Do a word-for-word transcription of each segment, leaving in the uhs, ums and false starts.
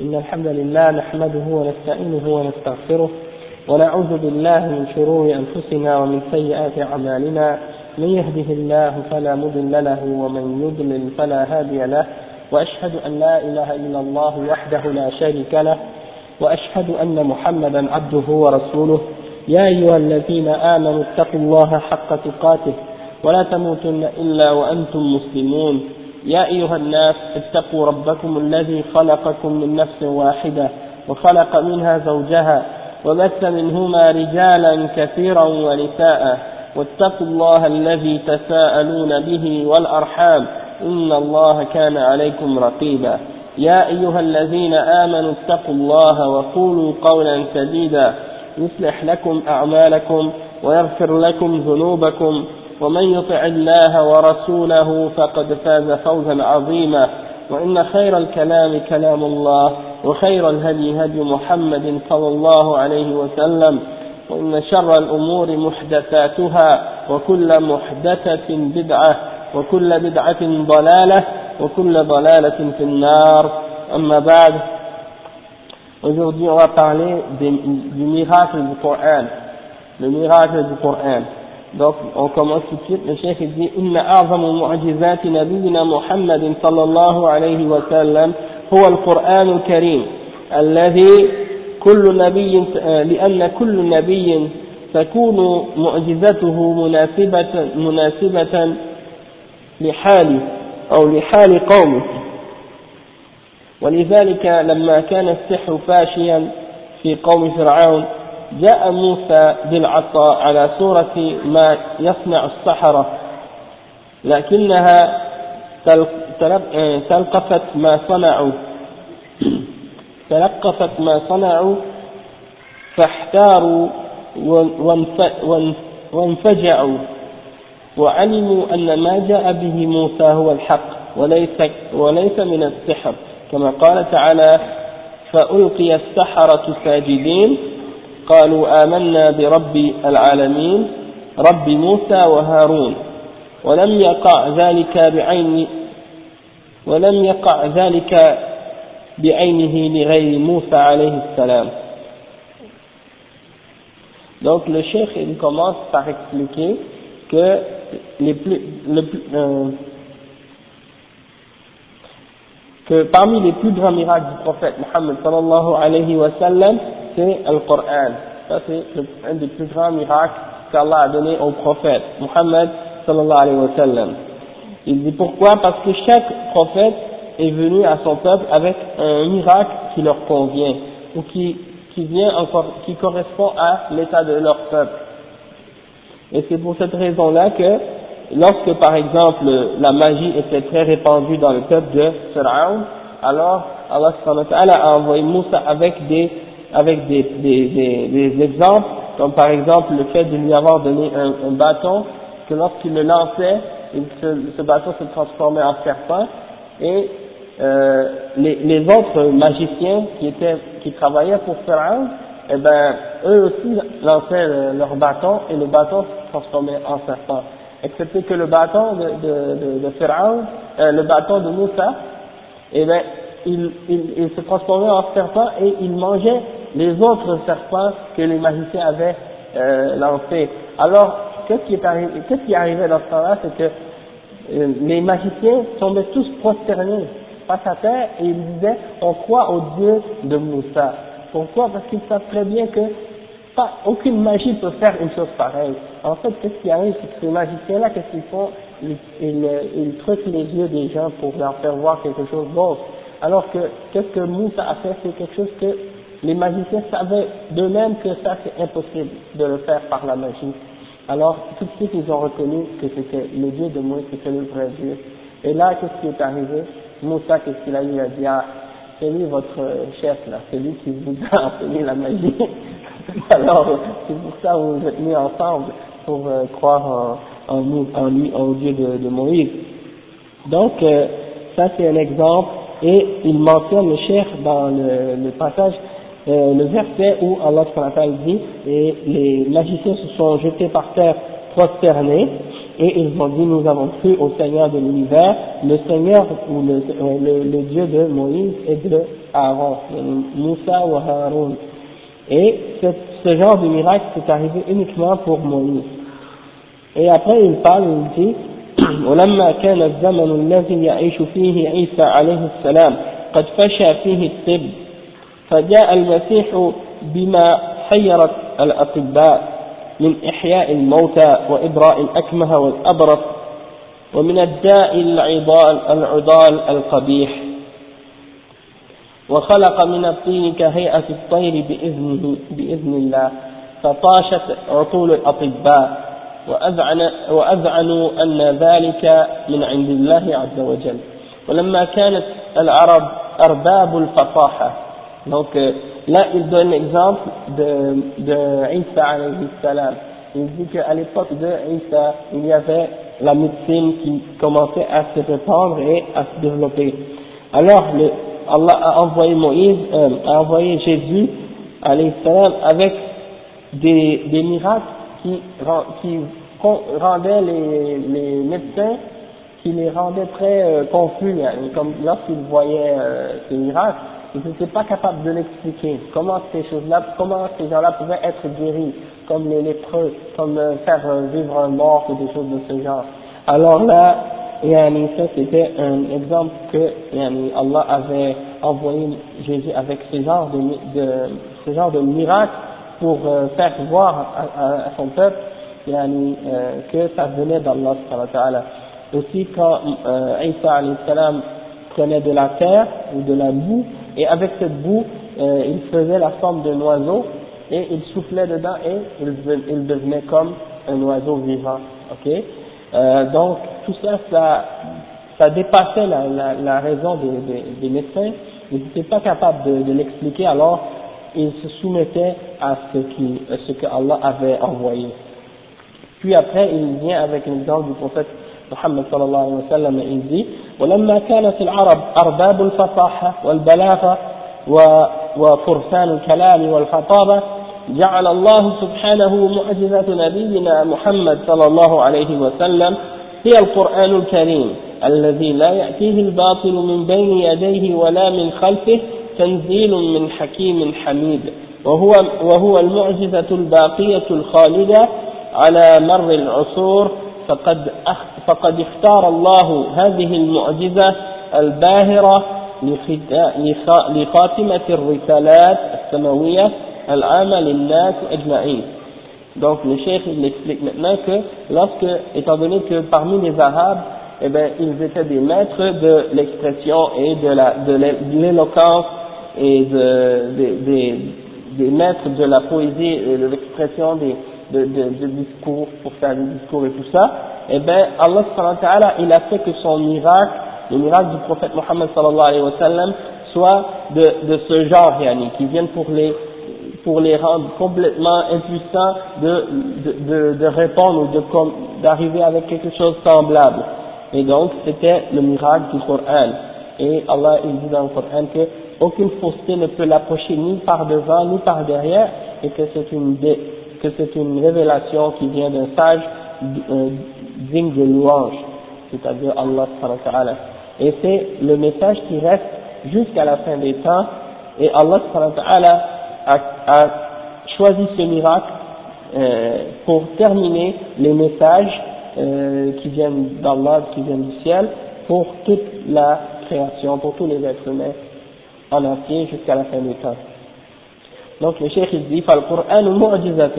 إن الحمد لله نحمده ونستعينه ونستغفره ونعوذ بالله من شرور أنفسنا ومن سيئات أعمالنا من يهده الله فلا مضل له ومن يضلل فلا هادي له وأشهد أن لا إله إلا الله وحده لا شريك له وأشهد أن محمدا عبده ورسوله يا أيها الذين آمنوا اتقوا الله حق تقاته ولا تموتن إلا وأنتم مسلمون يا أيها الناس اتقوا ربكم الذي خلقكم من نفس واحدة وخلق منها زوجها وبث منهما رجالا كثيرا ونساء واتقوا الله الذي تساءلون به والأرحام إن الله كان عليكم رقيبا يا أيها الذين آمنوا اتقوا الله وقولوا قولا سديدا يصلح لكم أعمالكم ويغفر لكم ذنوبكم ومن يطع الله ورسوله فقد فاز فوزا عظيما وإن خير الكلام كلام الله وخير الهدي هدي محمد صلى الله عليه وسلم وإن شر الأمور محدثاتها وكل محدثة بدعة وكل بدعة ضلالة وكل ضلالة في النار أما بعد. Aujourd'hui on va parler des, du miracle du Coran, le miracle du Coran. Donc on commence tout de suite. Le cheikh dit إن أعظم معجزات نبينا محمد صلى الله عليه وسلم هو القرآن الكريم الذي كل نبي لأن كل نبي تكون معجزته مناسبة مناسبة لحال أو لحال قومه ولذلك لما كان السحر فاشيا في قوم فرعون جاء موسى بالعصا على صورة ما يصنع السحرة لكنها تلقفت ما صنعوا تلقفت ما صنعوا فاحتاروا وانفجعوا وعلموا أن ما جاء به موسى هو الحق وليس, وليس من السحر كما قال تعالى فألقي السحرة ساجدين قالوا آمنا برب العالمين رب موسى وهارون ولم يقع ذلك بعين ولم يقع ذلك بعينه لغير موسى عليه السلام. Donc le cheikh il commence par expliquer que les plus, le plus euh, que parmi les plus grands miracles du prophète Muhammad sallallahu alayhi wa sallam c'est le Coran. Ça c'est un des plus grands miracles qu'Allah a donné au prophète Muhammad sallallahu alayhi wa sallam. Il dit pourquoi? Parce que chaque prophète est venu à son peuple avec un miracle qui leur convient ou qui, qui vient encore, qui correspond à l'état de leur peuple. Et c'est pour cette raison-là que lorsque par exemple la magie était très répandue dans le peuple de Pharaon, alors Allah subhanahu wa ta'ala a envoyé Moussa avec des avec des, des, des, des exemples, comme par exemple le fait de lui avoir donné un, un bâton, que lorsqu'il le lançait, il se, ce bâton se transformait en serpent, et euh, les, les autres magiciens qui étaient qui travaillaient pour Pharaon, eh ben eux aussi lançaient le, leur bâton, et le bâton se transformait en serpent, excepté que le bâton de, de, de, de Pharaon, euh, le bâton de Moussa, eh ben il, il, il se transformait en serpent et il mangeait les autres serpents que les magiciens avaient euh, lancés. Alors, qu'est-ce qui est arrivé, qu'est-ce qui arrivait dans ce temps-là, c'est que euh, les magiciens tombaient tous prosternés face à terre et ils disaient, on croit au Dieu de Moussa. Pourquoi? Parce qu'ils savent très bien que pas, aucune magie peut faire une chose pareille. En fait, qu'est-ce qui arrive, c'est que ces magiciens-là, qu'est-ce qu'ils font? Ils, ils, ils truquent les yeux des gens pour leur faire voir quelque chose d'autre. Alors que, qu'est-ce que Moussa a fait? C'est quelque chose que les magiciens savaient d'eux-mêmes que ça c'est impossible de le faire par la magie. Alors tout de suite ils ont reconnu que c'était le Dieu de Moïse, c'était le vrai Dieu. Et là qu'est-ce qui est arrivé? Moussa qu'est-ce qu'il a dit? Il a dit ah c'est lui votre chef là, c'est lui qui vous a enseigné la magie. Alors c'est pour ça que vous vous êtes mis ensemble pour euh, croire en, en, en lui, en Dieu de, de Moïse. Donc euh, ça c'est un exemple et il mentionne le cheikh dans le, le passage. Euh, le verset où Allah subhanahu wa ta'ala dit et les magiciens se sont jetés par terre prosternés Et ils ont dit, nous avons cru au Seigneur de l'univers, le Seigneur ou le, le, le Dieu de Moïse et de Aaron, Moussa ou Haroun. Et ce, ce genre de miracle c'est arrivé uniquement pour Moïse. Et après il parle, il dit ولما كان الزمن الذي يعيش فيه عيسى عليه السلام قد فشى فيه الطب فجاء المسيح بما حيرت الأطباء من إحياء الموتى وإبراء الأكمه والأبرص ومن الداء العضال, العضال القبيح وخلق من الطين كهيئة الطير بإذنه بإذن الله فطاشت عقول الأطباء وأذعن وأذعنوا أن ذلك من عند الله عز وجل ولما كانت العرب أرباب الفصاحة. Donc là il donne l'exemple de, de Isa alayhi salam. Il dit qu'à l'époque de Isa il y avait la médecine qui commençait à se répandre et à se développer. Alors le, Allah a envoyé Moïse, euh, a envoyé Jésus alayhi salam avec des, des miracles qui, qui rendaient les, les médecins, qui les rendaient très euh, confus, hein, comme lorsqu'ils voyaient euh, ces miracles, ils n'étaient pas capables de l'expliquer, comment ces choses-là, comment ces gens-là pouvaient être guéris, comme les lépreux, comme euh, faire euh, vivre un mort ou des choses de ce genre. Alors là, yani, ça c'était un exemple que yani, Allah avait envoyé Jésus avec ce genre de, de, ce genre de miracle pour euh, faire voir à, à, à son peuple yani, euh, que ça venait d'Allah subhanahu wa ta'ala. Aussi quand euh, Isa alayhi salam prenait de la terre ou de la boue et avec cette boue euh, il faisait la forme d'un oiseau et il soufflait dedans et il, il devenait comme un oiseau vivant. Ok, euh, donc tout ça, ça, ça dépassait la, la, la raison des, des, des médecins. Ils n'étaient pas capables de, de l'expliquer, alors ils se soumettaient à ce, qui, à ce que Allah avait envoyé. Puis après, il vient avec l'exemple du prophète Muhammad sallallahu alayhi wa sallam et il dit ولما كانت العرب أرباب الفصاحة والبلاغة وفرسان الكلام والخطابة جعل الله سبحانه معجزة نبينا محمد صلى الله عليه وسلم هي القرآن الكريم الذي لا يأتيه الباطل من بين يديه ولا من خلفه تنزيل من حكيم حميد وهو, وهو المعجزة الباقية الخالدة على مر العصور فقد, فقد اختار الله هذه المعجزة الباهرة لخاتمة الرسالات السماوية العامة للناس أجمعين. Donc le cheikh il explique maintenant que lorsque, étant donné que parmi les Arabes, eh ben, ils étaient des maîtres de l'expression et de la de l'éloquence et de, de, des, des maîtres de la poésie et de l'expression des de, de, de discours pour faire des discours et tout ça, eh ben Allah subhanahu wa ta'ala il a fait que son miracle, le miracle du prophète Mohammed sallallahu alayhi wa sallam soit de, de ce genre, yani, qui viennent pour les pour les rendre complètement impuissants de, de, de, de répondre ou de, d'arriver avec quelque chose de semblable. Et donc, c'était le miracle du Coran. Et Allah, il dit dans le Coran que aucune fausseté ne peut l'approcher ni par devant, ni par derrière, et que c'est une, que c'est une révélation qui vient d'un sage euh, digne de louange, c'est-à-dire Allah subhanahu wa ta'ala. Et c'est le message qui reste jusqu'à la fin des temps, et Allah subhanahu wa ta'ala a, a choisi ce miracle euh, pour terminer les messages euh, qui viennent d'Allah, qui viennent du ciel, pour toute la création, pour tous les êtres humains en entier jusqu'à la fin des temps. Donc le cheikh il dit فالقرآن معجزة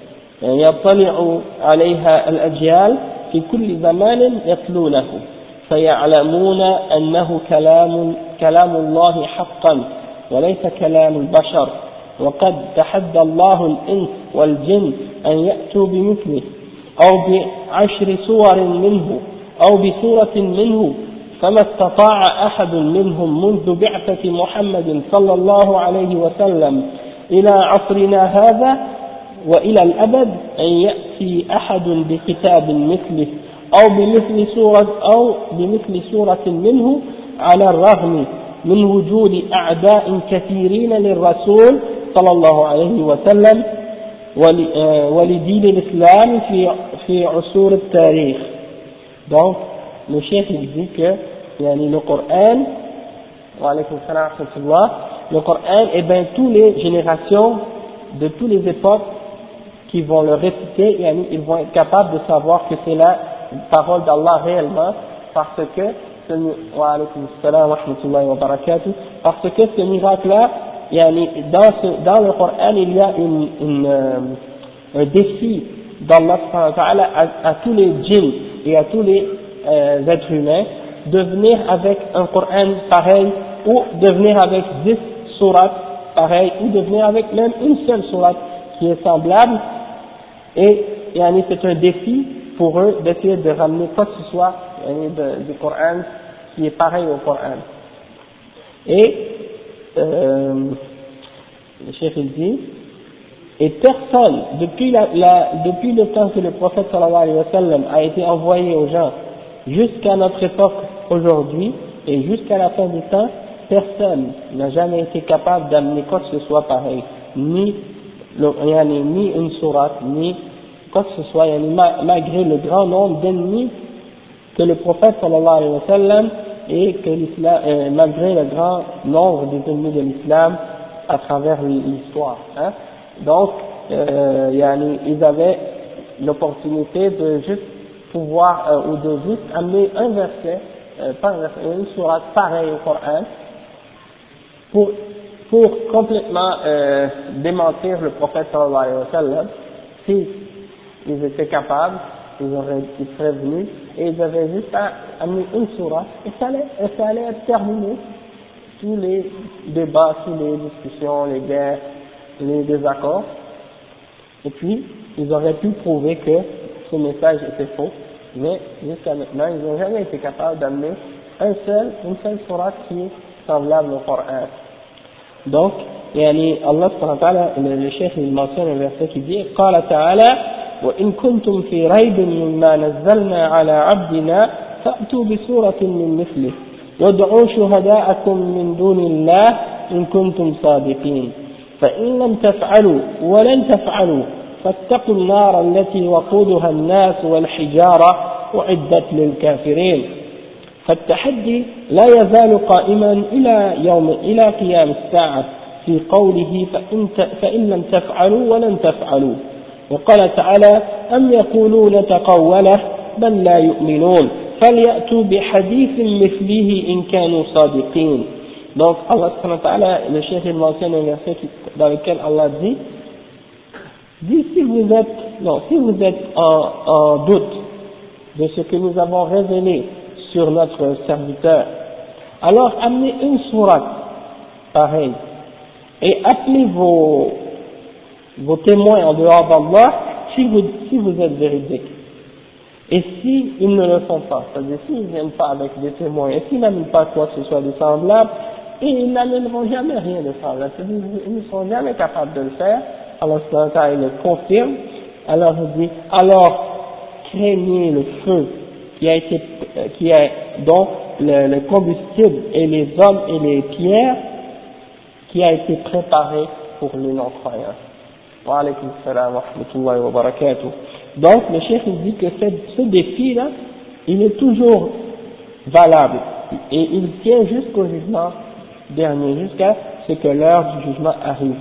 يطلع عليها الأجيال في كل زمان يتلونه فيعلمون أنه كلام كلام الله حقا وليس كلام البشر وقد تحدى الله الإنس والجن أن يأتوا بمثله أو بعشر صور منه أو بسورة منه فما استطاع أحد منهم منذ بعثة محمد صلى الله عليه وسلم إلى عصرنا هذا وإلى الأبد أن يأتي أحد بكتاب مثله أو بمثل سورة أو بمثل سورة منه على الرغم من وجود أعداء كثيرين للرسول صلى الله عليه وسلم ولدين الإسلام في في عصور التاريخ. Donc le cheikh il dit que yani, le Coran, wa alaykum salam wa rahmatullah, le Coran, et bien toutes les générations de toutes les époques qui vont le réciter, yani, ils vont être capables de savoir que c'est la parole d'Allah réellement, parce que ce, wa alaykum salam wa rahmatullah wa barakatuh, parce que ce miracle-là, yani, dans, ce, dans le Coran, il y a une, une, euh, un défi d'Allah à, à tous les djinns et à tous les euh, êtres humains de venir avec un Coran pareil, ou de venir avec dix sourates pareilles, ou de venir avec même une seule sourate qui est semblable. Et yani, c'est un défi pour eux d'essayer de ramener quoi que ce soit yani, de, du Coran qui est pareil au Coran. Et euh, le chef il dit, et personne, depuis, la, la, depuis le temps que le prophète sallallahu alayhi wa sallam a été envoyé aux gens, jusqu'à notre époque aujourd'hui, et jusqu'à la fin du temps, personne n'a jamais été capable d'amener quoi que ce soit pareil, ni, le, yani, ni une sourate, ni quoi que ce soit, yani, malgré le grand nombre d'ennemis que le prophète sallallahu alayhi wa sallam et que l'islam, euh, malgré le grand nombre des ennemis de l'islam à travers l'histoire. Hein. Donc, euh, yani, ils avaient l'opportunité de juste pouvoir, euh, ou de juste amener un verset, euh, pas un verset, une sourate pareille au Coran, pour, pour complètement euh, démentir le prophète sallallahu alayhi wa sallam. Si ils étaient capables, ils, auraient, ils seraient venus, et ils avaient juste à amener une sourate, et ça allait, et ça allait être terminé. Tous les débats, toutes les discussions, les guerres, les désaccords, et puis ils auraient pu prouver que ce message était faux, mais jusqu'à maintenant ils n'ont jamais été capables d'amener un seul, une seule sourate qui est semblable au Coran. Donc, yani Allah subhanahu wa ta'ala, le cheikh il mentionne un verset qui dit قال تعالى وإن كنتم في ريب مما نزلنا على عبدنا فأتوا بسورة من مثله وادعوا شهداءكم من دون الله إن كنتم صادقين فإن لم تفعلوا ولن تفعلوا فاتقوا النار التي وقودها الناس والحجارة أعدت للكافرين. فالتحدي لا يزال قائما إلى يوم إلى قيام الساعة في قوله فإن, فإن لم تفعلوا ولن تفعلوا. وقال تعالى أم يقولون تقوله بل لا يؤمنون فليأتوا بحديث مثله إن كانوا صادقين. Donc Allah subhanahu wa ta'ala, le cheikh il mentionne un verset dans lequel Allah dit, dit si vous êtes, non, si vous êtes en, en doute de ce que nous avons révélé sur notre serviteur, alors amenez une sourate pareille et appelez vos, vos témoins en dehors d'Allah si vous, si vous êtes véridiques. Et si ils ne le font pas, c'est-à-dire s'ils ne viennent pas avec des témoins, et s'ils n'amènent pas quoi que ce soit de semblable, et ils n'amèneront jamais rien de semblable, c'est-à-dire ils ne seront jamais capables de le faire, alors il le confirme, alors il dit, alors craignez le feu qui a été, qui a, dont le, le combustible et les hommes et les pierres qui a été préparé pour les non-croyants. Wa alaykum salam wa rahmatullahi wa barakatuh. Donc le cheikh il dit que ce, ce défi-là, il est toujours valable et il tient jusqu'au jugement dernier, jusqu'à ce que l'heure du jugement arrive.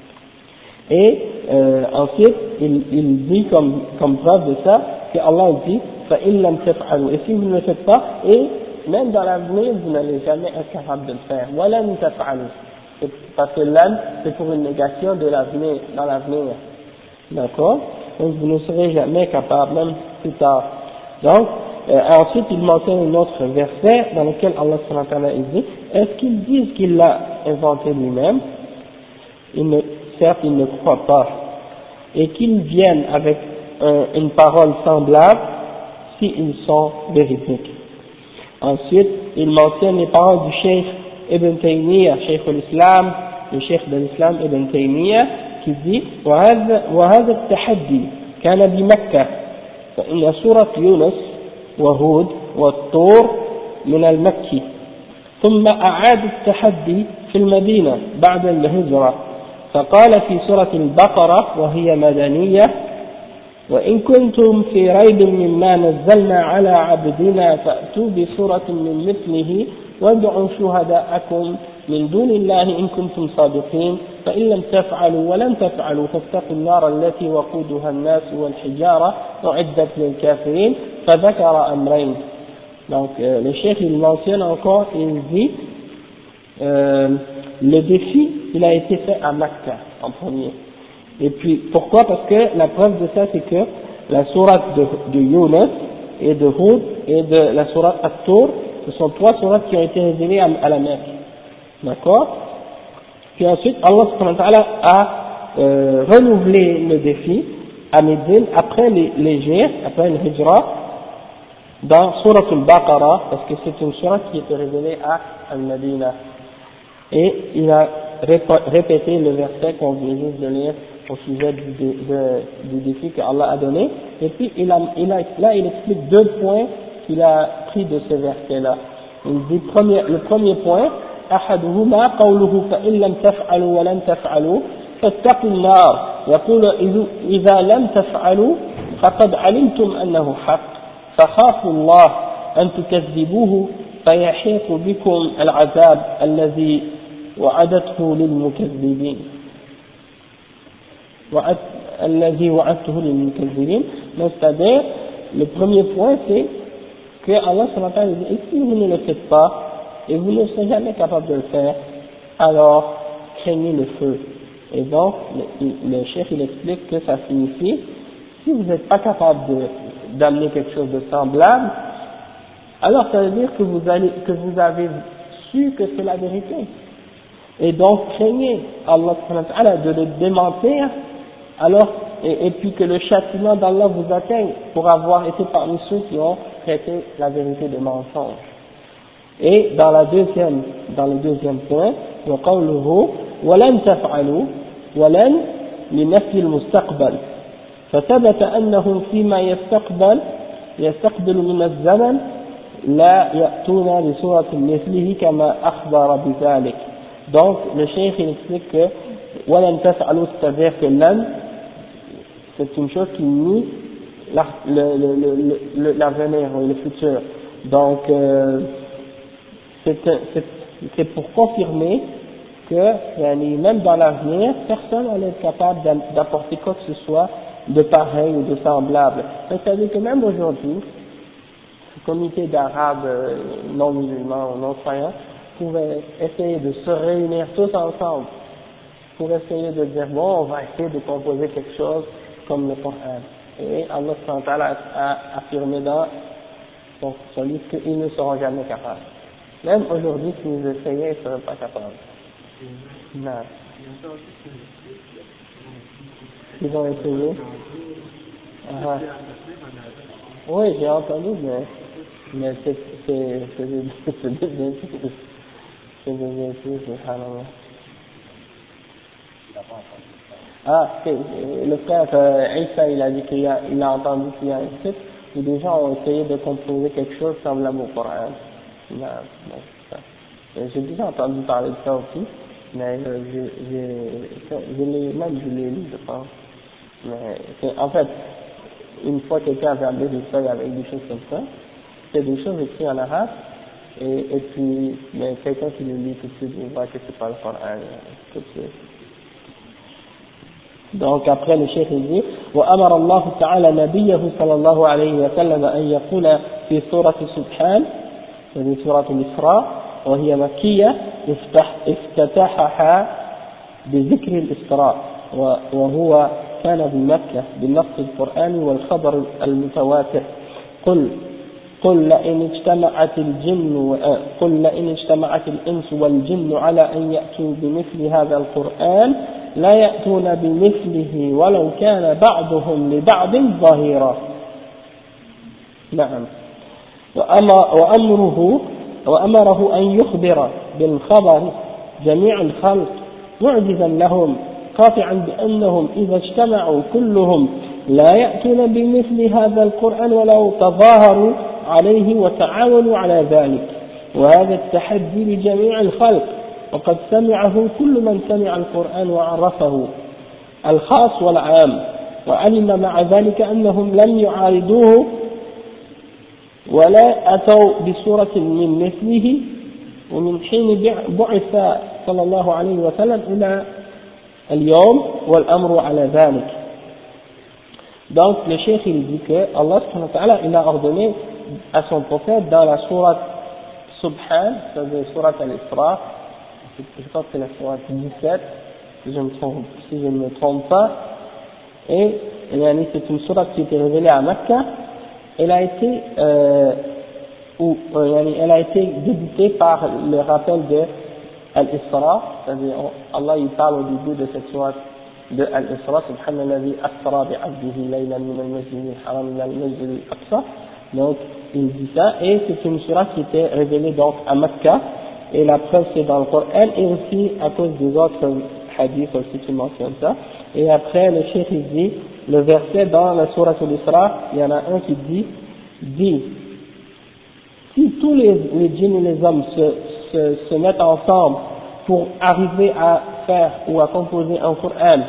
Et euh, ensuite, il, il dit comme, comme preuve de ça, que Allah dit فَإِن لَمْ تَفْعَلُوا, et si vous ne le faites pas, et même dans l'avenir, vous n'allez jamais être capable de le faire. وَلَمْ تَفْعَلُوا, parce que l'âme, c'est pour une négation de l'avenir, dans l'avenir. D'accord? Donc vous ne serez jamais capable, même plus tard. Donc, euh, ensuite il mentionne un autre verset dans lequel Allah subhanahu wa ta'ala dit, est-ce qu'ils disent qu'il l'a inventé lui-même? Il ne, certes ils ne croient pas. Et qu'ils viennent avec un, une parole semblable s'ils sont véridiques. Ensuite, il mentionne les paroles du Cheikh Ibn Taymiyyah, Cheikh al-Islam, le Cheikh de l'Islam Ibn Taymiyyah, qui dit وهذا التحدي كان بمكة فإن سورة يونس وهود والطور من المكي ثم أعاد التحدي في المدينة بعد الهجرة فقال في سورة البقرة وهي مدنية وإن كنتم في ريب مما نزلنا على عبدنا فأتوا بسورة من مثله وادعوا شهداءكم من دون الله إن كنتم صادقين فإن لم تفعلوا ولن تفعلوا فاتقوا النار التي وقودها الناس والحجارة أعدت للكافرين فذكر أمرين. Donc euh, le chef il mentionne encore, il dit euh, le défi il a été fait à Makkah en premier. Et puis pourquoi? Parce que la preuve de ça c'est que la sourate de, de Yunus et de Hud et de la sourate At-Tur, ce sont trois sourates qui ont été révélées à, à la Mecque. D'accord? Puis ensuite Allah subhanahu wa ta'ala a euh, renouvelé le défi à Médine après les, les Hijr, après le Hijra, dans Surat al-Baqarah, parce que c'est une sourate qui était révélée à Al-Madina. Et il a répété le verset qu'on vient juste de lire au sujet du, de, de, du défi que Allah a donné. Et puis il a, il a, là il explique deux points qu'il a pris de ce verset-là. Il dit premier, le premier point, أحدهما قوله فإن لم تفعلوا ولن تفعلوا فاتقوا النار يقول إذا لم تفعلوا فقد علمتم أنه حق فخافوا الله أن تكذبوه فيحيق بكم العذاب الذي وعدته للمكذبين وعد الذي وعدته للمكذبين. Donc c'est-à-dire le premier point c'est que Allah subhanahu wa ta'ala dit et si vous ne le faites pas et vous ne serez jamais capable de le faire, alors craignez le feu. Et donc le, le chef il explique que ça signifie si vous n'êtes pas capable de d'amener quelque chose de semblable, alors ça veut dire que vous allez, que vous avez su que c'est la vérité. Et donc craignez Allah de le démentir, alors, et, et puis que le châtiment d'Allah vous atteigne pour avoir été parmi ceux qui ont traité la vérité de mensonge. Et dans la deuxième, dans le deuxième point, وقوله ولن تفعلوا ولن لنفي المستقبل فثبت أنه فيما يستقبل يستقبل من الزمن لا يأتون بسورة مثله كما أخبر بذلك. Donc le cheikh il explique que ولن تفعلوا c'est-à-dire que l'an c'est une chose qui nie l'avenir ou le futur. Donc euh, c'est pour confirmer que même dans l'avenir personne n'est capable d'apporter quoi que ce soit de pareil ou de semblable. C'est-à-dire que même aujourd'hui, le comité d'arabes non musulmans ou non croyants pourrait essayer de se réunir tous ensemble pour essayer de dire bon, on va essayer de composer quelque chose comme le Coran. Et Allah subhanahu wa ta'ala a affirmé dans son, son livre qu'ils ne seront jamais capables. Même aujourd'hui, s'ils essayaient, ils ne seraient pas capables. Non. Ils ont essayé. Ah. Oui, j'ai entendu, mais, mais c'est c'est c'est c'est des insultes. C'est des insultes, subhanallah. Ah, le frère euh, Isa, il a dit qu'il a, il a entendu qu'il y a un site où des gens ont essayé de composer quelque chose semblable au Coran. Non, non, ça. J'ai déjà entendu parler de ça aussi, mais euh, j'ai, je l'ai, même je l'ai lu, je pense. Mais c'est, en fait, une fois quelqu'un avait amené des feuilles avec des choses comme ça, c'est des choses écrites en arabe, et, et puis, mais quelqu'un qui le lit tout de suite, il voit que c'est pas le Coran, tout de suite. Donc après le cheikh dit وأمر الله تعالى نبيه صلى الله عليه وسلم أن يقول في سورة سبحان وهي سورة الإسراء وهي مكية افتتحها بذكر الإسراء وهو كان بمكة بالنص القرآني والخبر المتواتر قل قل لئن اجتمعت الجن قل لئن اجتمعت الإنس والجن على أن يأتوا بمثل هذا القرآن لا يأتون بمثله ولو كان بعضهم لبعض ظهيرا. نعم. وأمره وأمره أن يخبر بالخبر جميع الخلق معجزا لهم قاطعا بأنهم إذا اجتمعوا كلهم لا يأتون بمثل هذا القرآن ولو تظاهروا عليه وتعاونوا على ذلك، وهذا التحدي لجميع الخلق وقد سمعه كل من سمع القرآن وعرفه الخاص والعام وعلم مع ذلك أنهم لم يعارضوه ولا أتوا بسورة من مثله ومن حين بعث صلى الله عليه وسلم إلى اليوم والأمر على ذلك. Donc le cheikh il dit que Allah subhanahu wa ta'ala il a ordonné à son prophète dans la sourate Subhan, c'est-à-dire sourate Al-Isra, je pense que c'est la sourate dix-sept, si je, me trompe, si je ne me trompe pas, et c'est une sourate qui a été révélée à Mecca. Elle a été euh, ou euh, elle a été débutée par le rappel de Al-Isra, c'est-à-dire Allah il parle au début de cette sourate de Al-Isra, subhanalladhi asra bi'abdihi laylan min al-masjid al-haram ila al-masjid al-aqsa. Donc il dit ça, et c'est une sourate qui était révélée donc à Mecca, et la preuve c'est dans le Coran, et aussi à cause des autres hadiths aussi qui mentionnent ça. Et après le cheikh il dit le verset dans la sourate Al-Isra, il y en a un qui dit, dit, si tous les, les djinns et les hommes se, se, se mettent ensemble pour arriver à faire ou à composer un Coran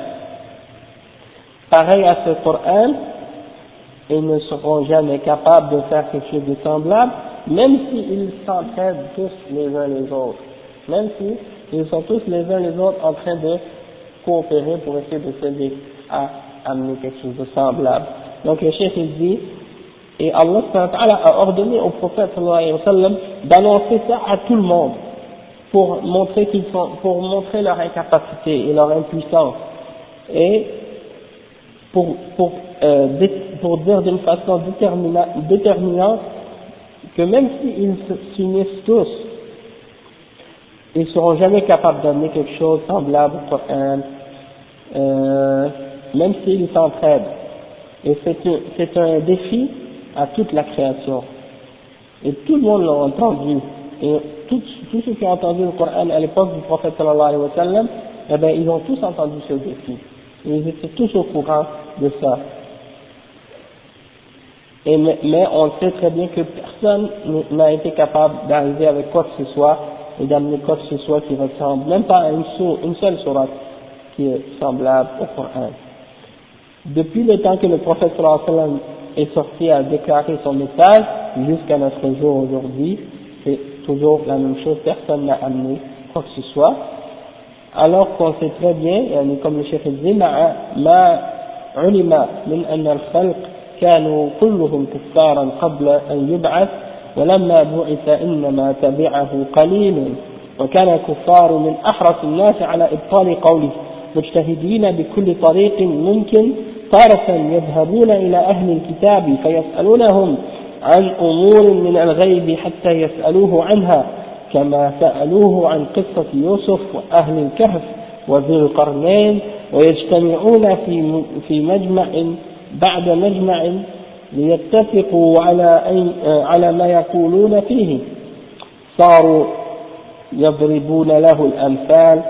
pareil à ce Coran, ils ne seront jamais capables de faire quelque chose de semblable, même s'ils s'entraident tous les uns les autres, même s'ils sont tous les uns les autres en train de coopérer pour essayer de s'aider à amener quelque chose de semblable. Donc le cheikh il dit, et Allah a ordonné au prophète sallallahu alayhi wa sallam d'annoncer ça à tout le monde pour montrer qu'ils sont, pour montrer leur incapacité et leur impuissance, et pour pour euh, pour dire d'une façon déterminante que même s'ils s'unissent tous, ils ne seront jamais capables d'amener quelque chose de semblable au Coran, euh, même s'ils s'entraident. Et c'est un, c'est un défi à toute la création. Et tout le monde l'a entendu. Et tous ceux qui ont entendu le Coran à l'époque du prophète sallallahu alayhi wa sallam, eh bien, ils ont tous entendu ce défi. Et ils étaient tous au courant de ça. Et mais, mais on sait très bien que personne n'a été capable d'arriver avec quoi que ce soit et d'amener quoi que ce soit qui ressemble, même pas à une, sourate, une seule sourate qui est semblable au Coran. Depuis le temps que le prophète sallallahu alayhi wa sallam est sorti à déclarer son message jusqu'à notre jour aujourd'hui, c'est toujours la même chose, personne n'a amené quoi que ce soit, alors qu'on sait très bien, comme le chef dit, ما علم من أن الخلق كانوا كلهم كفارا قبل أن يبعث ولما بعث إنما تبعه قليل وكان الكفار من أحرص الناس على إبطال قوله مجتهدين بكل طريق ممكن تارة يذهبون إلى أهل الكتاب فيسألونهم عن أمور من الغيب حتى يسألوه عنها كما سألوه عن قصة يوسف وأهل الكهف وذي القرنين ويجتمعون في في مجمع بعد مجمع ليتفقوا على أي على ما يقولون فيه صاروا يضربون له الأمثال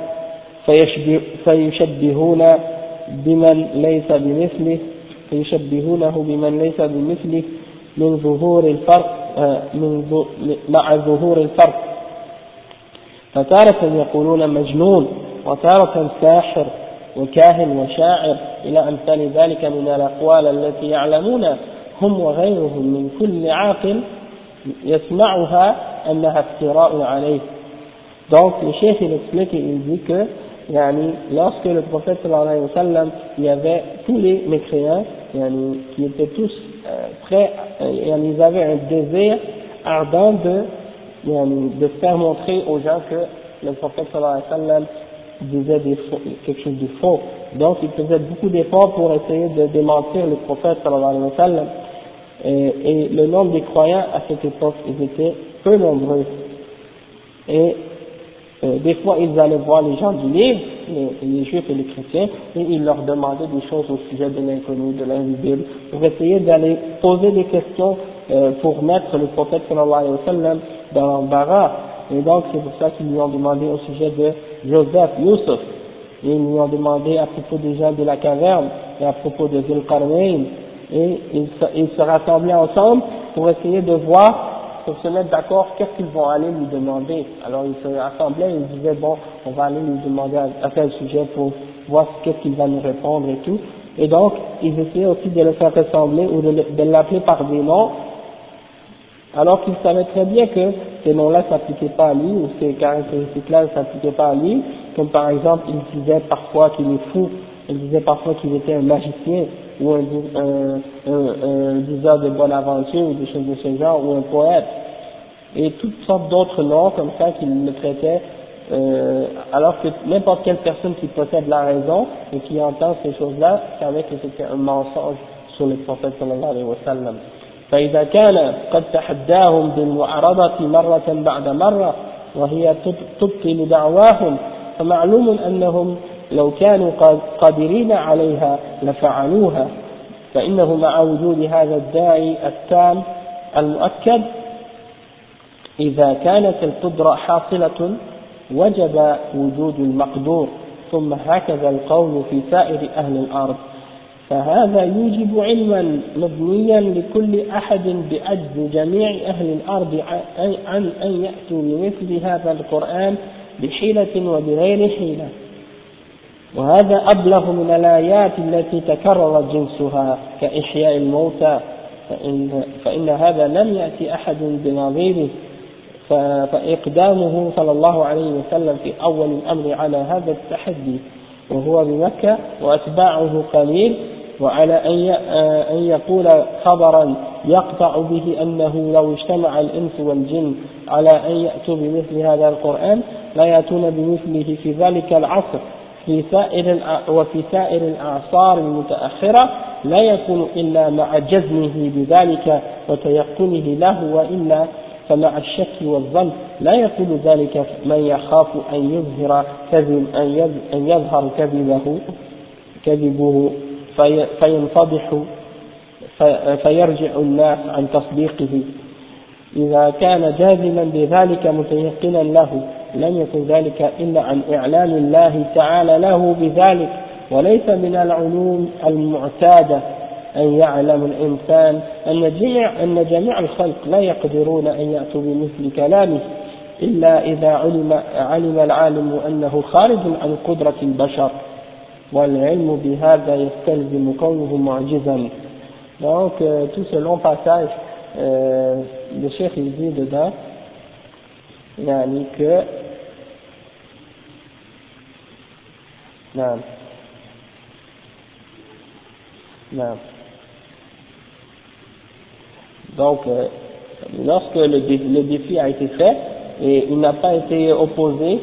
فيشبهون بمن ليس بمثله فيشبهونه بمن ليس بمثله من ظهور الفرق من مع ظهور الفرق فتارة يقولون مجنون وتارة ساحر وكاهن وشاعر إلى أمثال ذلك من الأقوال التي يعلمون هم وغيرهم من كل عاقل يسمعها أنها افتراء عليه. Donc le cheikh il explique et il dit que yani, lorsque le prophète sallallahu alayhi wa sallam, il y avait tous les mécréants yani, qui étaient tous euh, prêts, euh, yani, ils avaient un désir ardent de, yani, de faire montrer aux gens que le prophète sallallahu alayhi wa sallam disait des faux, quelque chose de faux. Donc ils faisaient beaucoup d'efforts pour essayer de démentir le prophète sallallahu alayhi wa sallam. Et, et le nombre des croyants à cette époque, ils étaient peu nombreux. Et Euh, des fois, ils allaient voir les gens du livre, les, les juifs et les chrétiens, et ils leur demandaient des choses au sujet de l'inconnu, de l'invisible, pour essayer d'aller poser des questions euh, pour mettre le prophète sallallahu alayhi wa sallam dans l'embarras. Et donc, c'est pour ça qu'ils lui ont demandé au sujet de Joseph, Youssef, et ils lui ont demandé à propos des gens de la caverne, et à propos de Dhul Qarnayn, et ils se, ils se rassemblaient ensemble pour essayer de voir, pour se mettre d'accord, qu'est-ce qu'ils vont aller lui demander. Alors ils se rassemblaient et ils disaient bon, on va aller lui demander à, à tel sujet pour voir qu'est-ce qu'il va nous répondre et tout. Et donc, ils essayaient aussi de le faire ressembler ou de, de l'appeler par des noms, alors qu'ils savaient très bien que ces noms-là ne s'appliquaient pas à lui, ou ces caractéristiques-là ne s'appliquaient pas à lui, comme par exemple, ils disaient parfois qu'il est fou, ils disaient parfois qu'il était un magicien, ou un, un, un, un diseur de bonne aventure, ou des choses de ce genre, ou un poète, et toutes sortes d'autres noms comme ça qu'ils le traitaient, euh, alors que n'importe quelle personne qui possède la raison et qui entend ces choses-là savait que c'était un mensonge sur le prophète sallallahu alayhi wa sallam. فإذا كان قد تحداهم بالمعارضة مرة بعد مرة وهي تبطل دعواهم فمعلوم أنهم لو كانوا قادرين عليها لفعلوها فإنه مع وجود هذا الداعي التام المؤكد إذا كانت القدرة حاصلة وجب وجود المقدور ثم هكذا القول في سائر أهل الأرض فهذا يوجب علما مبنيا لكل أحد بعجز جميع أهل الأرض عن أن يأتوا بمثل هذا القرآن بحيلة وبغير حيلة وهذا أبلغ من الآيات التي تكرر جنسها كإحياء الموتى فإن, فإن هذا لم يأتي أحد بنظيره فإقدامه صلى الله عليه وسلم في أول الأمر على هذا التحدي وهو بمكة وأتباعه قليل وعلى أن يقول خبرا يقطع به أنه لو اجتمع الإنس والجن على أن يأتوا بمثل هذا القرآن لا يأتون بمثله في ذلك العصر في سائر وفي سائر الأعصار المتأخرة لا يكون إلا مع جزمه بذلك وتيقنه له وإلا فمع الشك والظن لا يقول ذلك من يخاف أن يظهر كذب أن يظهر كذبه كذبه في فينفضح في فيرجع الناس عن تصديقه إذا كان جازما بذلك متيقنا له لم يكن ذلك إلا عن إعلان الله تعالى له بذلك وليس من العلوم المعتادة أن يعلم الإنسان أن جميع, أن جميع الخلق لا يقدرون أن يأتوا بمثل كلامه إلا إذا علم, علم العالم أنه خارج عن قدرة البشر والعلم بهذا يستلزم كونه معجزا. Donc euh, tout ce long passage euh, le cheikh il dit dedans yani que non non donc euh, lorsque le défi, le défi a été fait et il n'a pas été opposé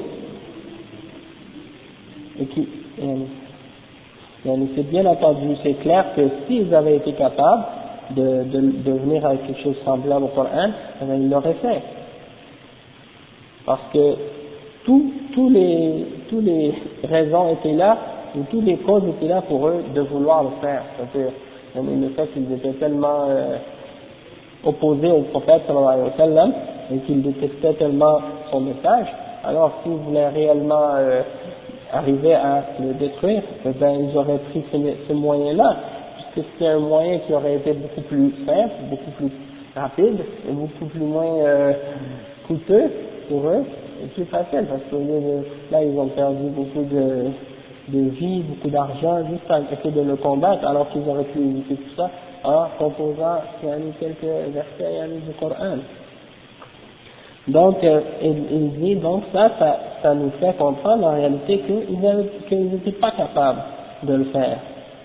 et qui yani, yani c'est bien entendu, c'est clair que s'ils avaient été capables de, de, de venir avec quelque chose semblable au Coran, eh bien, ils l'auraient fait. Parce que tous tous les, tous les raisons étaient là, ou tous les causes étaient là pour eux de vouloir le faire. C'est-à-dire, le fait qu'ils étaient tellement euh, opposés au prophète sallallahu alayhi wa sallam, et qu'ils détestaient tellement son message, alors s'ils voulaient réellement euh, arriver à le détruire, eh bien, ils auraient pris ce, ce moyen-là, puisque c'était un moyen qui aurait été beaucoup plus simple, beaucoup plus rapide, et beaucoup plus moins euh, coûteux pour eux, et plus facile, parce que là, ils ont perdu beaucoup de, de vie, beaucoup d'argent, juste à essayer de le combattre, alors qu'ils auraient pu éviter tout ça en composant quelques versets du Coran. Donc, euh, il, il dit, donc ça, ça, ça nous fait comprendre en réalité qu'ils n'étaient pas capables de le faire.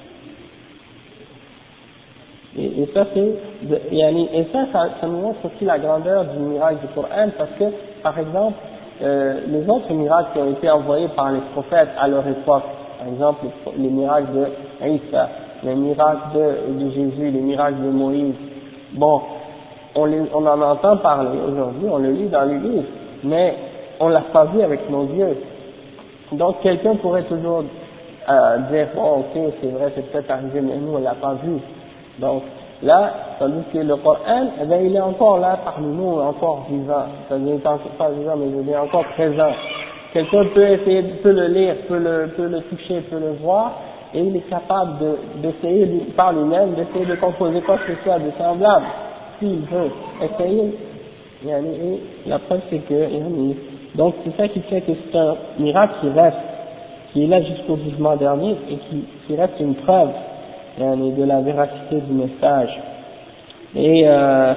Et, et ça, c'est, et ça, ça, ça nous montre aussi la grandeur du miracle du Coran, parce que, par exemple, euh, les autres miracles qui ont été envoyés par les prophètes à leur époque, par exemple, les, les miracles de Isa, les miracles de, de Jésus, les miracles de Moïse, bon, On, les, on en entend parler aujourd'hui, on le lit dans les livres, mais on l'a pas vu avec nos yeux. Donc quelqu'un pourrait toujours euh, dire bon ok c'est vrai c'est peut-être arrivé mais nous on l'a pas vu. Donc là, tandis que le Coran, eh bien, il est encore là parmi nous, encore vivant. C'est-à-dire pas vivant mais il est encore présent. Quelqu'un peut essayer, peut le lire, peut le, peut le toucher, peut le voir, et il est capable de, d'essayer par lui-même d'essayer de composer quoi que ce soit de semblable. S'il veut essayer, et la preuve c'est que, donc c'est ça qui fait que c'est un miracle qui reste, qui est là jusqu'au jugement dernier et qui, qui reste une preuve yani, de la véracité du message. Et euh,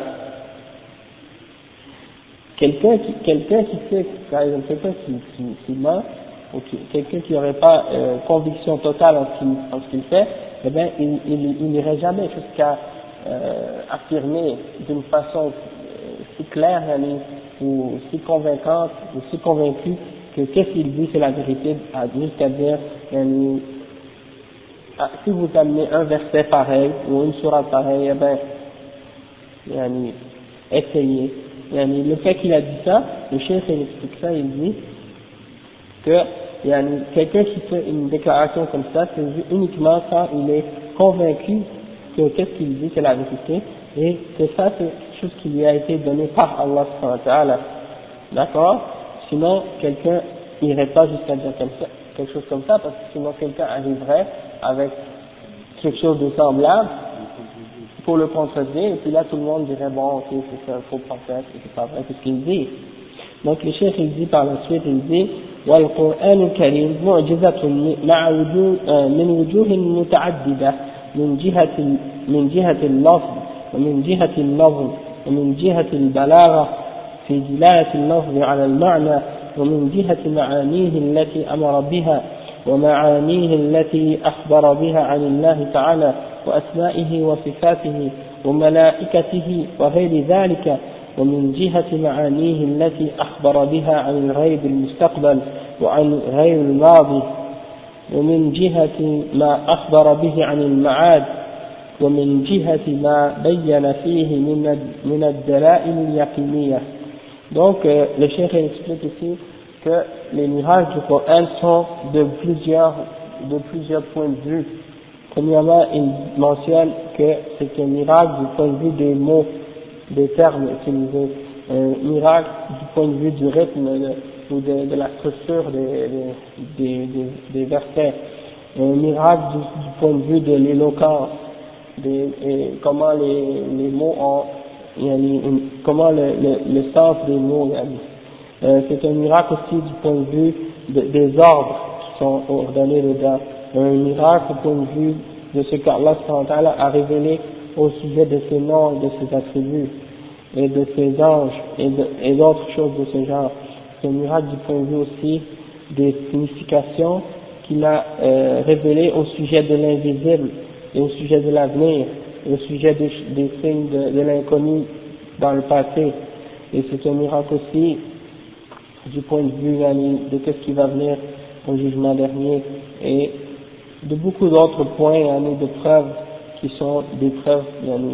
quelqu'un qui, quelqu'un qui fait, par exemple, quelqu'un qui, qui, qui ment, ou qui, quelqu'un qui n'aurait pas euh, conviction totale en ce qu'il, en ce qu'il fait, eh bien, il, il, il n'irait jamais jusqu'à euh, affirmer d'une façon euh, si claire, yani, ou si convaincante, ou si convaincu que qu'est-ce qu'il dit c'est la vérité, jusqu'à dire, yani, ah, si vous amenez un verset pareil ou une sourate pareille, eh ben, yani, essayez. Yani, le fait qu'il a dit ça, le chef il explique ça, il dit que yani, quelqu'un qui fait une déclaration comme ça, c'est uniquement quand il est convaincu que qu'est-ce qu'il dit c'est la vérité, et que ça c'est quelque chose qui lui a été donné par Allah subhanahu wa ta'ala. D'accord? Sinon, quelqu'un n'irait pas jusqu'à dire comme ça, quelque chose comme ça, parce que sinon quelqu'un arriverait avec quelque chose de semblable pour le contredire, et puis là tout le monde dirait bon, ok, c'est un faux prophète, et c'est pas vrai, c'est ce qu'il dit. Donc le chef il dit par la suite, il dit والقرآن الكريم معجزة مع وجوه من وجوه متعددة من جهة من جهة اللفظ ومن جهة اللفظ ومن جهة البلاغة في دلالة اللفظ على المعنى ومن جهة معانيه التي أمر بها ومعانيه التي أخبر بها عن الله تعالى وأسمائه وصفاته وملائكته وغير ذلك ومن جهة معانيه التي أخبر بها عن الغيب المستقبل وعن غير الماضي ومن جهة ما أخبر به عن المعاد ومن جهة ما بين فيه من من الدلائل اليقينية. Donc euh, le cheikh explique ici que les miracles du Coran sont de plusieurs de plusieurs points de vue. Premièrement, il mentionne que c'est un miracle du point de vue des mots, des termes utilisés, un miracle du point de vue du rythme de, ou de, de la structure des, des, des, des versets, un miracle du, du point de vue de l'éloquence, des, et comment les, les mots ont, yani, comment le, le, le sens des mots, yani. Euh, c'est un miracle aussi du point de vue de, des ordres qui sont ordonnés dedans, un miracle du point de vue de ce qu'Allah a révélé au sujet de ses noms et de ses attributs, et de ses anges, et, de, et d'autres choses de ce genre. C'est un miracle du point de vue aussi des significations qu'il a euh, révélées au sujet de l'invisible, et au sujet de l'avenir, et au sujet des, des signes de, de l'inconnu dans le passé. Et c'est un miracle aussi du point de vue de ce qui va venir au jugement dernier, et de beaucoup d'autres points, de preuves qui sont des preuves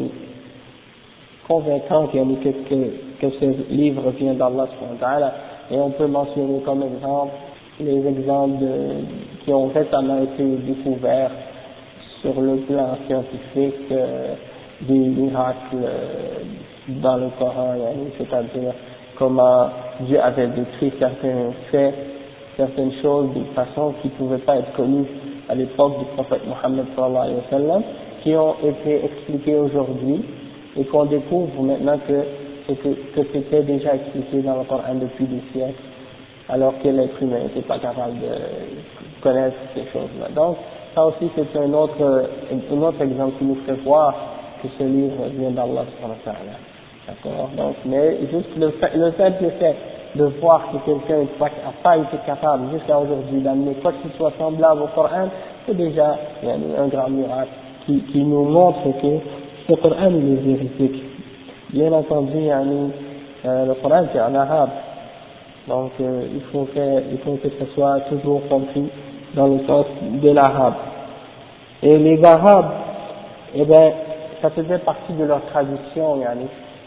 convaincantes que, que, que ce livre vient d'Allah subhanahu wa ta'ala. Et on peut mentionner comme exemple les exemples de, qui ont récemment été découverts sur le plan scientifique, euh, des miracles euh, dans le Coran, c'est-à-dire comment Dieu avait décrit certains faits, certaines choses d'une façon qui ne pouvaient pas être connues à l'époque du prophète Mohammed sallallahu alayhi wa sallam, qui ont été expliquées aujourd'hui et qu'on découvre maintenant que, que, que c'était déjà expliqué dans le Coran depuis des siècles, alors que l'être humain n'était pas capable de connaître ces choses-là. Donc, ça aussi c'est un autre, un autre exemple qui nous fait voir que ce livre vient d'Allah subhanahu wa ta'ala. D'accord? Donc, mais juste le fait, le fait, le fait de voir que quelqu'un n'a pas été capable jusqu'à aujourd'hui d'amener quoi que ce soit semblable au Coran, c'est déjà un grand miracle qui, qui nous montre que ce Coran il est véridique. Bien entendu, yani, euh, le Coran c'est en arabe, donc euh, il, faut que, il faut que ce soit toujours compris dans le sens de l'arabe. Et les Arabes, eh bien, ça faisait partie de leur tradition, yani.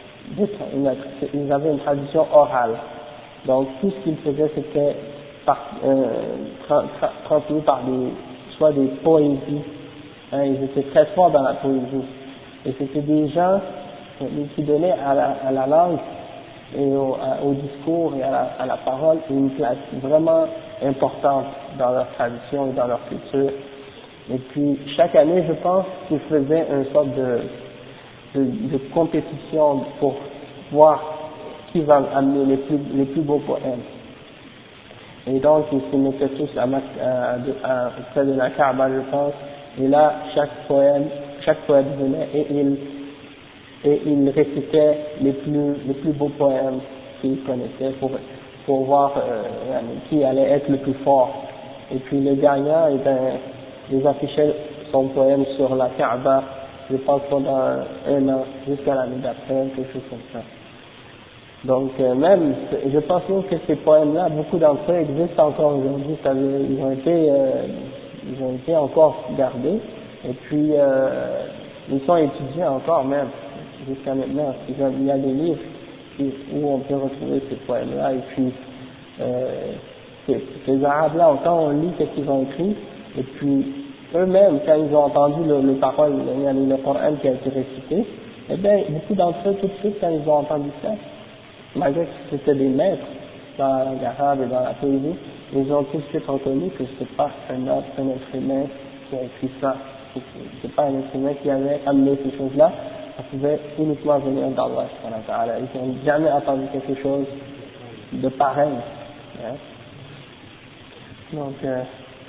Ils avaient une tradition orale. Donc tout ce qu'ils faisaient c'était par, euh, tra, tra, transmis par des, soit des poésies, hein, ils étaient très forts dans la poésie. Et c'était des gens euh, qui donnaient à la, à la langue et au, à, au discours et à la, à la parole une place vraiment importante dans leur tradition et dans leur culture. Et puis chaque année je pense qu'ils faisaient une sorte de De, de compétition pour voir qui va amener les plus, les plus beaux poèmes. Et donc, ils se mettaient tous à, à, à, à, près de la Kaaba, je pense, Et là, chaque poème, chaque poète venait et il, et il récitait les plus, les plus beaux poèmes qu'il connaissait pour, pour voir euh, qui allait être le plus fort. Et puis le gagnant, eh ben, il affichait son poème sur la Kaaba, je pense pendant un an, jusqu'à l'année d'après, quelque chose comme ça. Donc euh, même, je pense même que ces poèmes-là, beaucoup d'entre eux existent encore aujourd'hui, ils ont été, euh, ils ont été encore gardés, et puis euh, ils sont étudiés encore même, jusqu'à maintenant. Il y a des livres où on peut retrouver ces poèmes-là, et puis euh, ces, ces Arabes-là, quand on lit ce qu'ils ont écrit, et puis eux-mêmes, quand ils ont entendu le, le parole, le, le Coran qui a été récité, eh bien, beaucoup d'entre eux, tout de suite, quand ils ont entendu ça, malgré que c'était des maîtres dans l'arabe et dans la poésie, ils ont tout de suite reconnu que c'est pas un autre, un être humain qui a écrit ça. C'est pas un être humain qui avait amené ces choses-là, ça pouvait uniquement venir d'Allah. Ils n'ont jamais entendu quelque chose de pareil. Hein. Donc, euh,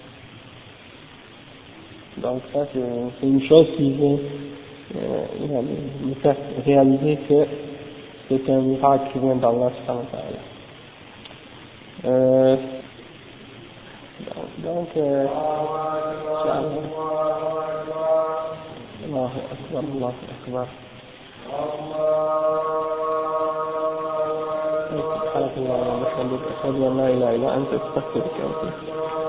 donc ça c'est une chose qui vient euh, nous faire réaliser que c'est un miracle qui vient d'Allah subhanahu wa ta'ala. Euh, donc, euh, Allahu Akbar, Allahu Akbar. سبحانك اللهم وبحمدك أشهد أن لا إله إلا أنت أستغفرك وأتوب إليك.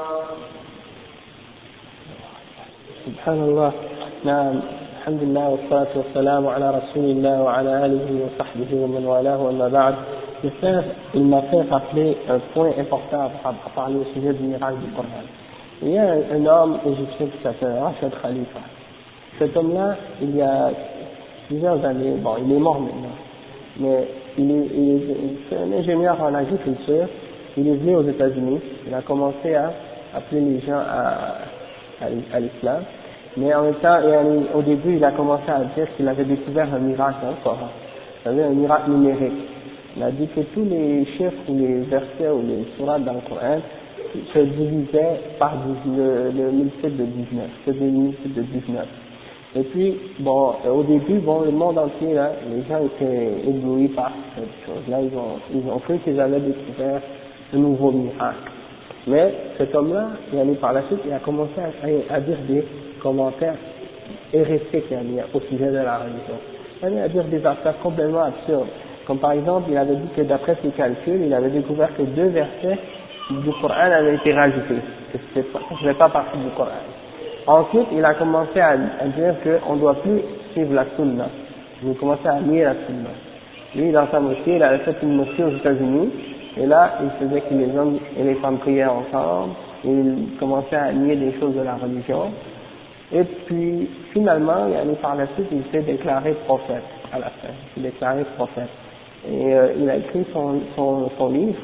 سبحان الله. نعم. الحمد لله والصلاة والسلام على رسول الله وعلى آله وصحبه ومن والاه وما بعد. Le frère, il m'a fait rappeler un point important à parler au sujet du miracle du Coran. Il y a un, un homme égyptien qui s'appelle Rachid Khalifa. Cet homme-là, il y a plusieurs années, bon, il est mort maintenant, mais il est, il est, c'est un ingénieur en agriculture. Il est venu aux États-Unis. Il a commencé à appeler les gens à, à, à l'islam. Mais en même temps, au début, il a commencé à dire qu'il avait découvert un miracle dans le Coran. C'est-à-dire un miracle numérique. Il a dit que tous les chiffres ou les versets ou les sourates dans le Coran se divisaient par le, le multiple de dix-neuf. C'est des multiples de dix-neuf. Et puis, bon, au début, bon, le monde entier, là, les gens étaient éblouis par cette chose-là. Ils ont, ils ont cru qu'ils avaient découvert un nouveau miracle. Mais cet homme-là, il a mis par la suite, il a commencé à, à dire des commentaires hérétiques au sujet de la religion. Il a dit à dire des affaires complètement absurdes. Comme par exemple, il avait dit que d'après ses calculs, il avait découvert que deux versets du Coran avaient été rajoutés, que ce ne faisait pas partie du Coran. Ensuite, il a commencé à, à dire qu'on ne doit plus suivre la sunna. Il a commencé à nier la sunna. Lui, dans sa mosquée, il avait fait une mosquée aux États-Unis, et là, il faisait que les hommes et les femmes priaient ensemble, et il commençait à nier des choses de la religion. Et puis, finalement, par la suite, il s'est déclaré prophète, à la fin. Il s'est déclaré prophète. Et euh, il a écrit son, son, son livre,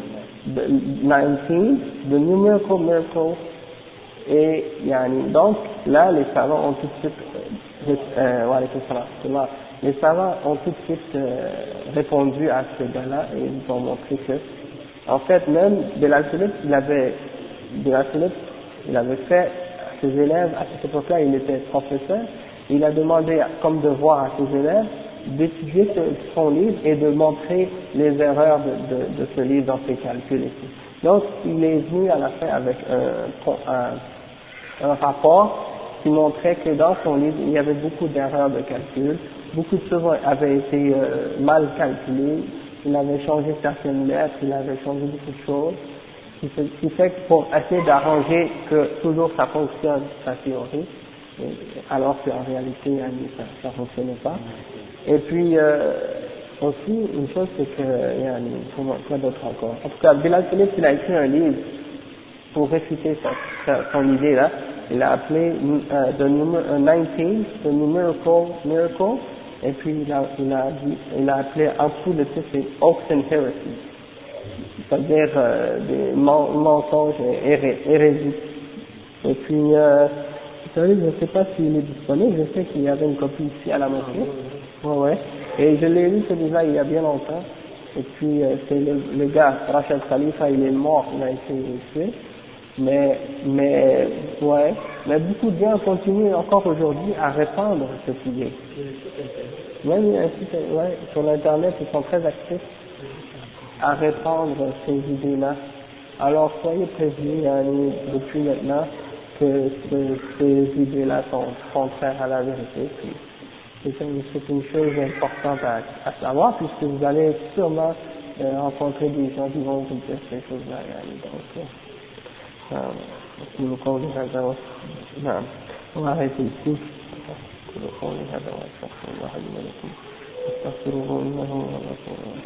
dix-neuf, The Numerical Miracle. Et yani, donc, là, les savants ont tout de suite, euh, euh, ouais, les savants ont tout de suite euh, répondu à ce gars-là et ils ont montré que, en fait, même Bilal Philippe, il avait, Bilal Philippe, il avait fait à ses élèves, à cette époque-là, il était professeur, il a demandé comme devoir à ses élèves d'étudier son livre et de montrer les erreurs de, de, de ce livre dans ses calculs et tout. Donc, il est venu à la fin avec un, un, un rapport qui montrait que dans son livre, il y avait beaucoup d'erreurs de calcul, beaucoup de choses avaient été euh, mal calculées, il avait changé certaines lettres, il avait changé beaucoup de choses, ce qui fait, qui fait que pour essayer d'arranger que toujours ça fonctionne, sa théorie, alors qu'en réalité, ça ne fonctionnait pas. Et puis, euh, aussi, une chose, c'est que, il y a une, quoi d'autre encore? En tout cas, Bilal Philippe, il a écrit un livre pour réfuter sa, sa, son idée là. Il a appelé euh, The Numer, uh, dix-neuf, The Numerical Miracle, et puis il a, il a, dit, il a appelé en dessous le titre, c'est Hoax and Heresy, c'est-à-dire euh, des mensonges et hérésies. Et puis, euh, je ne sais pas s'il est disponible, je sais qu'il y avait une copie ici à la mosquée. Ouais, ouais. Et je l'ai lu celui-là il y a bien longtemps. Et puis, euh, c'est le, le gars, Rachid Khalifa, il est mort, il a été tué. Mais, mais, ouais, mais beaucoup de gens continuent encore aujourd'hui à répandre cette idée. Même ouais, sur l'internet, ils sont très actifs à répandre ces idées-là. Alors soyez prévenus euh, depuis maintenant que ce, ces idées-là sont contraires à la vérité. Puis, c'est une, c'est une chose importante à, à savoir, puisque vous allez sûrement euh, rencontrer des gens qui vont vous dire ces choses-là. Donc, أقول قولي هذا و... نعم وعليك السيف أقول قولي هذا وأستغفر الله لي ولكم أستغفروه إنه هو الغفور